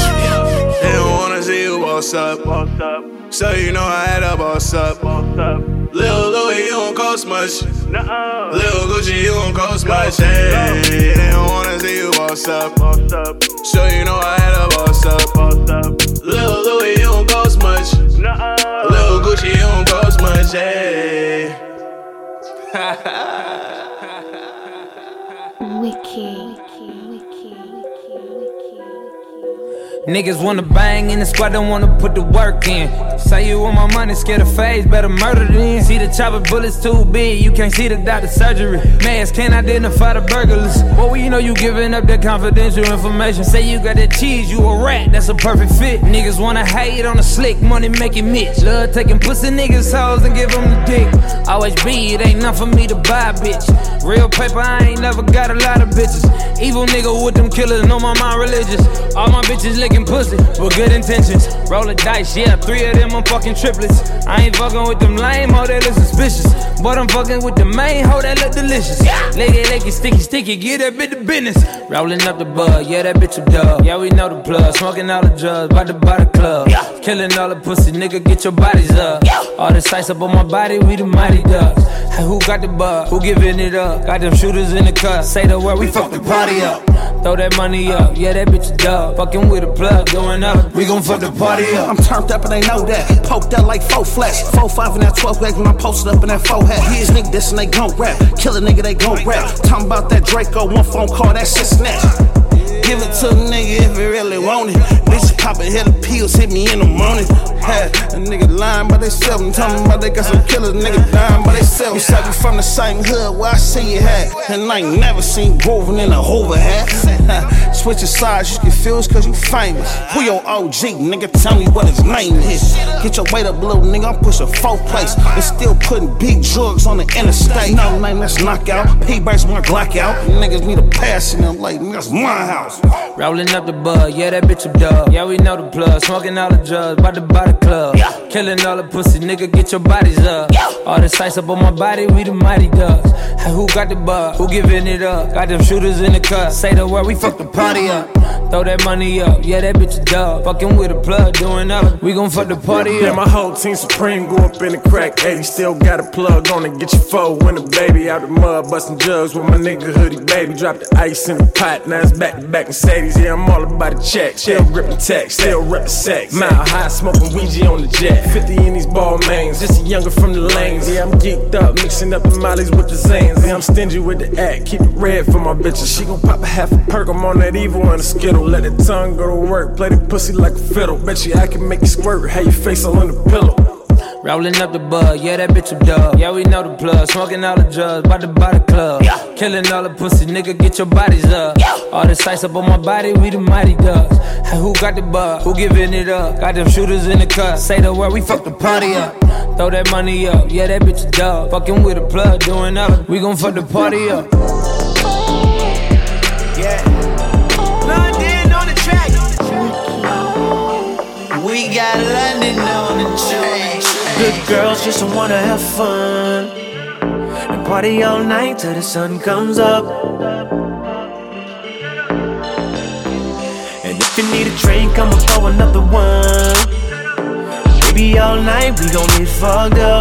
They don't wanna see you boss up. So you know I had to boss up. Lil' Louis, you don't cost much. Lil' Gucci, you don't cost much. Hey, they don't wanna see you boss up. So you know I had to boss up. Lil' Louis, you don't cost much. Lil' Gucci, you don't cost much. Hey. Wiki. Niggas wanna bang in the squad, don't wanna put the work in. Say you want my money, scared of phase, better murder then. See the chopper bullets too big, you can't see the doctor's surgery. Mask can't identify the burglars. Well, you know you giving up that confidential information. Say you got that cheese, you a rat, that's a perfect fit. Niggas wanna hate on the slick, money making Mitch. Love taking pussy niggas' hoes and give them the dick. Always be, it ain't nothing for me to buy, bitch. Real paper, I ain't never got a lot of bitches. Evil nigga with them killers, know my mind religious. All my bitches licking pussy with good intentions. Roll the dice, yeah, three of them I'm fucking triplets. I ain't fucking with them lame hoe that look suspicious, but I'm fucking with the main hoe that look delicious. Lick it, lick it, sticky, sticky, get that bitch the business. Rolling up the bud, yeah, that bitch a dub. Yeah, we know the plug, smoking all the drugs, bout to buy the club. Killing all the pussy, nigga, get your bodies up. All the sights up on my body, we the mighty ducks. Hey, who got the bug? Who giving it up? Got them shooters in the cut. Say the word, we fuck the party up. Throw that money up, yeah, that bitch a dub. Fucking with a plug, going up, we gon' fuck the party up. I'm turned up and they know that. Poked out like four flash. Four five in that twelve gauge when I'm posted up in that four hat. His nigga this and they gon' rap. Kill a nigga, they gon' rap. Talking about that Draco, one phone call, that shit snatch. Give it to a nigga if he really want it. Bitch poppin', hit the pills, hit me in the morning. Had a nigga lying by they self and tell me about they got some killers, nigga dying by they self. You said we from the same hood where I see you hat. And I ain't never seen Woven in a Hoover hat. Switching sides, you confused cause you famous. Who your O G, nigga, tell me what his name is. Get your weight up, little nigga, I'm pushing four place. And still putting big drugs on the interstate. No name, that's knockout. P-Bags my Glock out. Niggas need a pass in them like, that's my house. Rolling up the bud, yeah, that bitch a dub. Yeah, we know the plug, smoking all the drugs, bout to buy the club. Killing all the pussy, nigga, get your bodies up. All the sights up on my body, we the mighty ducks. Hey, who got the bug? Who giving it up? Got them shooters in the cut. Say the word, we fuck the party up. Throw that money up, yeah, that bitch a dub. Fucking with a plug, doing up. We gon' fuck the party up. Yeah, my whole team supreme, go up in the crack eighty. Still got a plug on it, get your foe when the baby out the mud, bustin' jugs with my nigga hoodie baby. Drop the ice in the pot, now it's back to back Mercedes. Yeah, I'm all about the check, still grippin' tech, still rep the sex. Mile high, smoking Ouija on the jet. fifty in these ball mains, just a younger from the lanes. Yeah, I'm geeked up, mixing up the mollies with the Zans. Yeah, I'm stingy with the act, keep it red for my bitches. She gon' pop a half a perk, I'm on that evil and a skittle. Let the tongue go to work, play the pussy like a fiddle. Bet you I can make you squirt, have your face all on the pillow. Rolling up the bud, yeah, that bitch a dub. Yeah, we know the plug, smoking all the drugs, bout to buy the club. Yeah. Killing all the pussy, nigga, get your bodies up. Yeah. All the sights up on my body, we the mighty ducks. Hey, who got the bug? Who giving it up? Got them shooters in the cut. Say the word, we fuck the party up. Throw that money up, yeah, that bitch a dub. Fucking with a plug, doing up. We gon' fuck the party up. Yeah. London on the track. We got London on the track. Good girls just wanna have fun and party all night till the sun comes up. And if you need a drink, I'ma pour another one. Baby, all night we gon' get fucked up.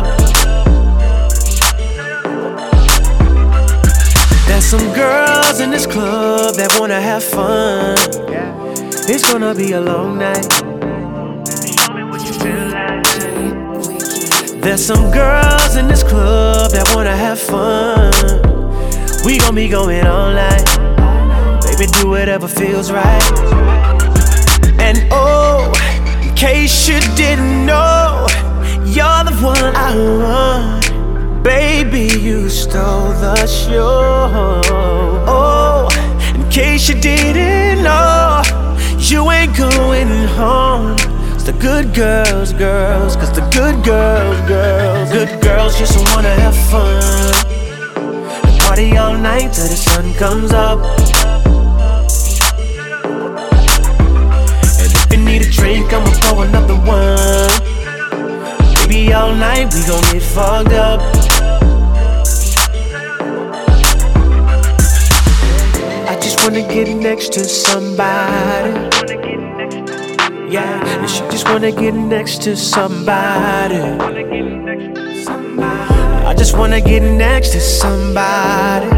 There's some girls in this club that wanna have fun. It's gonna be a long night. There's some girls in this club that wanna have fun. We gon' be going all night. Baby, do whatever feels right. And oh, in case you didn't know, you're the one I want. Baby, you stole the show. Oh, in case you didn't know, you ain't going home. The good girls, girls, cause the good girls, girls, good girls just wanna have fun and party all night till the sun comes up. And if you need a drink, I'ma pour another one. Baby, all night we gon' get fucked up. I just wanna get next to somebody. Yeah, and she just wanna get next to somebody. I just wanna get next to somebody.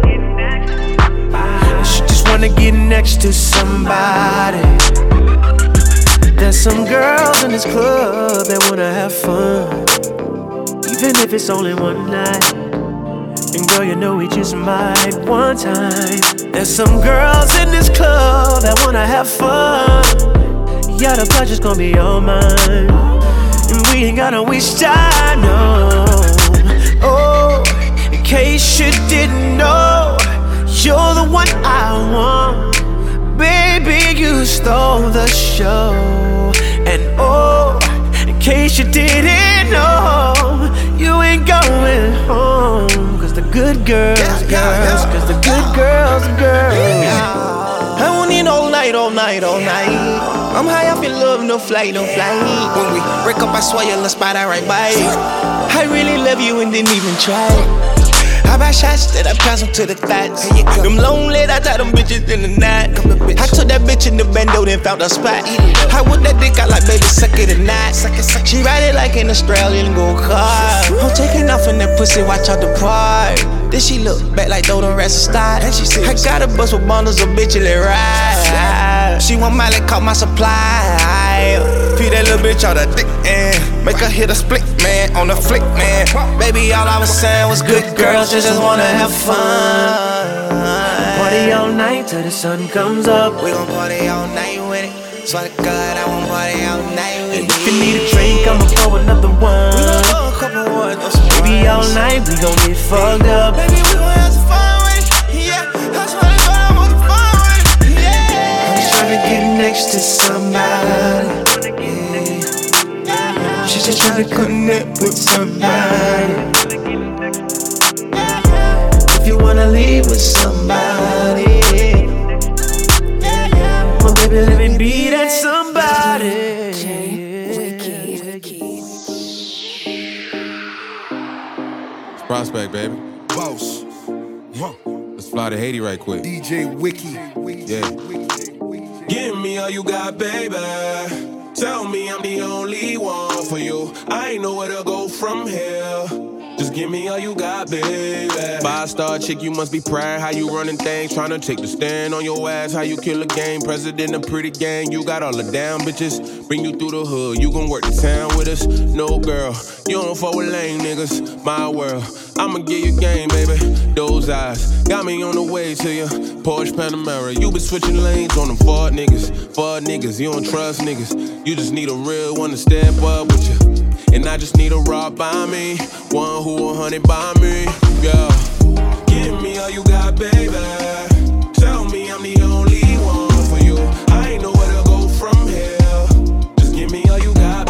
And she just wanna get next to somebody. There's some girls in this club that wanna have fun, even if it's only one night. And girl, you know we just might one time. There's some girls in this club that wanna have fun. Yeah, the pleasure's gonna be all mine, and we ain't gotta waste time, no. Oh, in case you didn't know, you're the one I want. Baby, you stole the show. And oh, in case you didn't know, you ain't going home. Cause the good girls, girls, cause the good girls, girls. I won't need all night, all night, all night. I'm high off in love, no flight, no flight. When we break up, I swear you'll spot I right by. I really love you and didn't even try. I buy shots that I pass them to the thighs. Them lonely, I tie them bitches in the night. I took that bitch in the bando, then found a spot. I whip that dick out like baby, suck it tonight. She ride it like an Australian go-kart. I'm taking off in that pussy, watch out the part. Then she look back like though the rest of start. And she said, I got a bus with bundles of bitches that ride. She want Miley, caught my supply. Feed that little bitch out of dick and make her hit a split, man, on the flick, man. Baby, all I was saying was good girls just wanna have fun. Party all night till the sun comes up. We gon' party all night with it. Swear to God, I won't party all night with it. And if you need a drink, I'ma pour another one. We gon' pour a couple ones. Baby, all night we gon' get fucked up. Baby, we gon' have some fun with it. Yeah, I swear to God, I want some fun with it. Yeah. I'm just tryna get next to somebody. Yeah. She's just tryna connect with somebody. If you wanna leave with somebody, well, baby, let me be that somebody. Prospect, baby. Boss. Huh. Let's fly to Haiti right quick. D J Wiki. Yeah. Give me all you got, baby. Tell me I'm the only one for you. I ain't know where to go from here. Just give me all you got, baby. Five-star chick, you must be proud. How you running things, trying to take the stand on your ass. How you kill a game, president of pretty gang. You got all the down bitches, bring you through the hood. You gon' work the town with us? No, girl, you don't fuck with lame niggas. My world, I'ma give you game, baby. Those eyes got me on the way to you. Porsche Panamera, you been switching lanes on them Ford niggas. Ford niggas, you don't trust niggas. You just need a real one to step up with you. And I just need a rock by me, one who a hundred by me, yeah. Give me all you got, baby. Tell me I'm the only one for you. I ain't know where to go from here. Just give me all you got,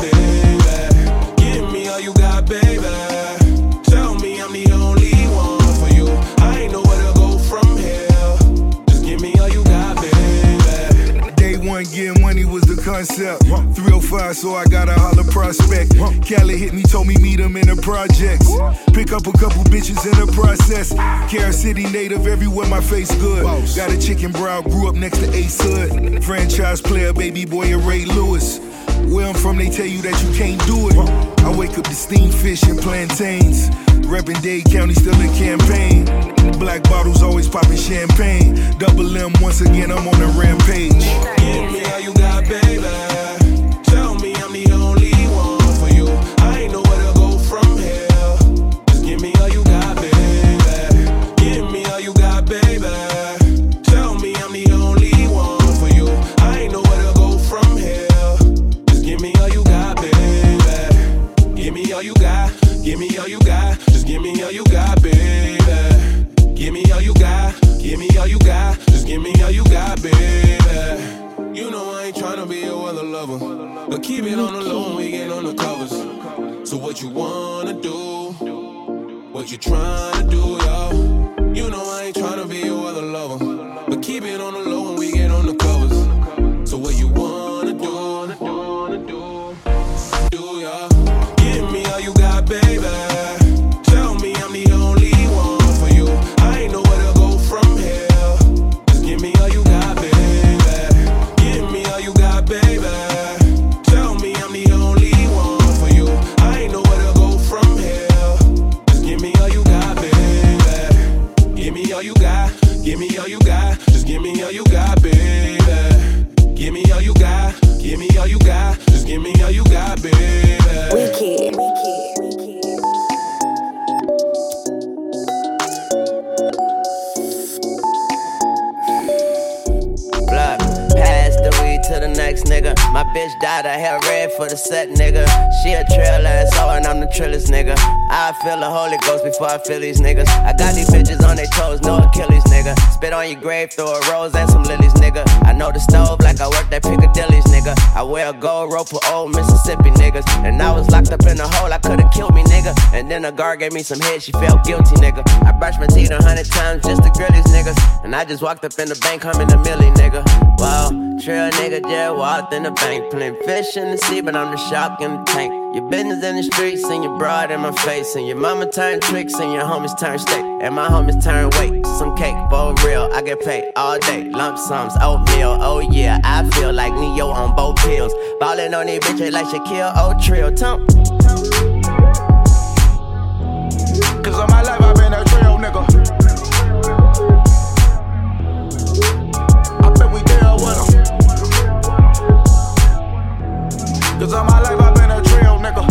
baby. Give me all you got, baby. Tell me I'm the only one for you. I ain't know where to go from here. Just give me all you got, baby. Day one, getting money was the concept. three oh five, so I got a holler prospect. Cali hit me, told me meet him in the projects. Pick up a couple bitches in the process. Carol City native, everywhere my face good. Got a chicken brow, grew up next to Ace Hood. Franchise player, baby boy, and Ray Lewis. Where I'm from, they tell you that you can't do it. I wake up to steamed fish and plantains. Reppin' Dade County, still in campaign. Black bottles always popping champagne. Double M, once again, I'm on a rampage. Give me all you got, baby. Tell me I'm the only one for you. I ain't know where to go from here. Just give me all you got, baby. Give me all you got, baby. Tell me I'm the only one for you. I ain't know where to go from here. Just give me all you got, baby. Give me all you got. Give me all you got. Just give me all you got, baby. Give me all you got. Give me all you got. Just give me all you got, baby. You know I ain't tryna be a weather lover, but keep it on the low when we get on the covers. So what you wanna do? What you tryna do, yo? You know I ain't tryna be a weather lover, but keep it on the low when we get on the covers. So what you wanna do? Do, yo? Give me all you got, baby. Tell me I'm the only one for you. I ain't know where to go from here. Just give me all you got, baby. Give me all you got, baby. Tell me I'm the only one for you. I ain't know where to go from here. Just give me all you got, baby. Give me all you got. Give me all you got. Just give me all you got, baby. Give me all you got. Give me all you got. Just give me all you got, baby. Wicked. Block, pass the weed to the next nigga. My bitch dyed her hair red for the set, nigga. She a trail ass hoe and I'm the trillest nigga. I feel the Holy Ghost before I feel these niggas. I got these bitches on their toes, no Achilles, nigga. Spit on your grave, throw a rose and some lilies, nigga. I know the stove like I work at Piccadilly's, nigga. I wear a gold rope for old Mississippi niggas. And I was locked up in a hole, I could've killed me, nigga. And then a guard gave me some head, she felt guilty, nigga. I brushed my teeth a hundred times just to grill these niggas. And I just walked up in the bank, humming a milli, nigga. Wow, trail nigga just walked in the bank. Playing fish in the sea, but I'm the shark in the tank. Your business in the streets and your broad in my face. And your mama turn tricks and your homies turn steak. And my homies turn weight, some cake, for real. I get paid all day, lump sums, oatmeal. Oh yeah, I feel like Neo on both pills. Ballin' on these bitches like Shaquille O'Trill. Tump. Cause all my life I've been a trail nigga. I bet we deal with 'em. Cause all my life I've been a trail nigga.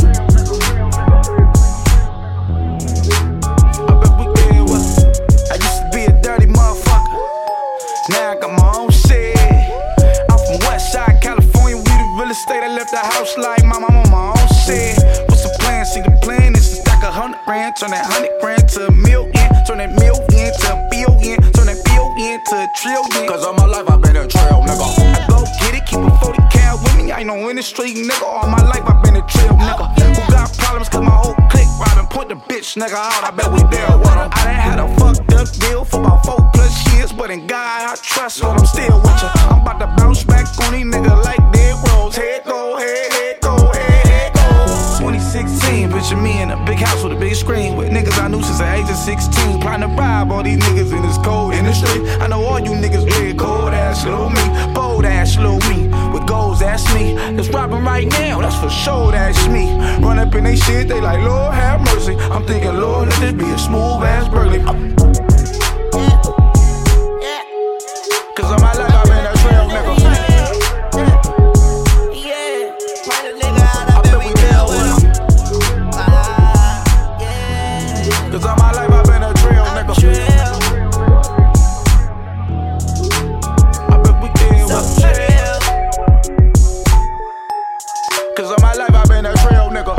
I bet we deal with 'em. I used to be a dirty motherfucker. Now I got my own shit. I'm from Westside, California. We the real estate. I left the house like mom, I'm on my own shit. What's the plan? See the plan is to stack a hundred grand, turn that hundred grand to a million, turn that million to a billion, turn that billion to a trillion. Cause all my life I've been a trail nigga. I go get it, keep a forty cal with me. I ain't no industry nigga. All my life I've been a trail nigga. Who got problems? Cause my whole clique robbing, put the bitch nigga out. I bet we deal with 'em. I done had a fucked up deal for about four plus years, but in God I trust, so I'm still with ya. I'm about to bounce back on these niggas like dead rolls. Head go, head, head go, head, head go. twenty sixteen, bitch, Picture me in a big house with a big screen with niggas I knew since the age of sixteen. Plotting to rob all these niggas in this cold industry. I know all you niggas red, cold ass little me, bold ass little me, with goals, that's me. It's robbing right now, that's for sure, that's me. Run up in they shit, they like, Lord have mercy. I'm thinking, Lord, let this be a smooth ass burglary. Cause on my life I've been a trail nigga. Cause all my life I've been a trail nigga. I bet we can with trail. Cause all my life I've been a trail nigga.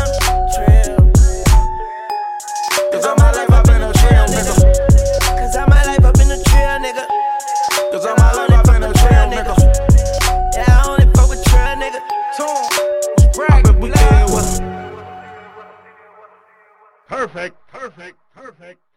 Cause all my life I've been a trail nigga. Cause all my life I've been a trail nigga. Cause all my life I've been a trail nigga. Yeah, I only fuck with trail nigga. I bet we can with. Perfect, perfect, perfect.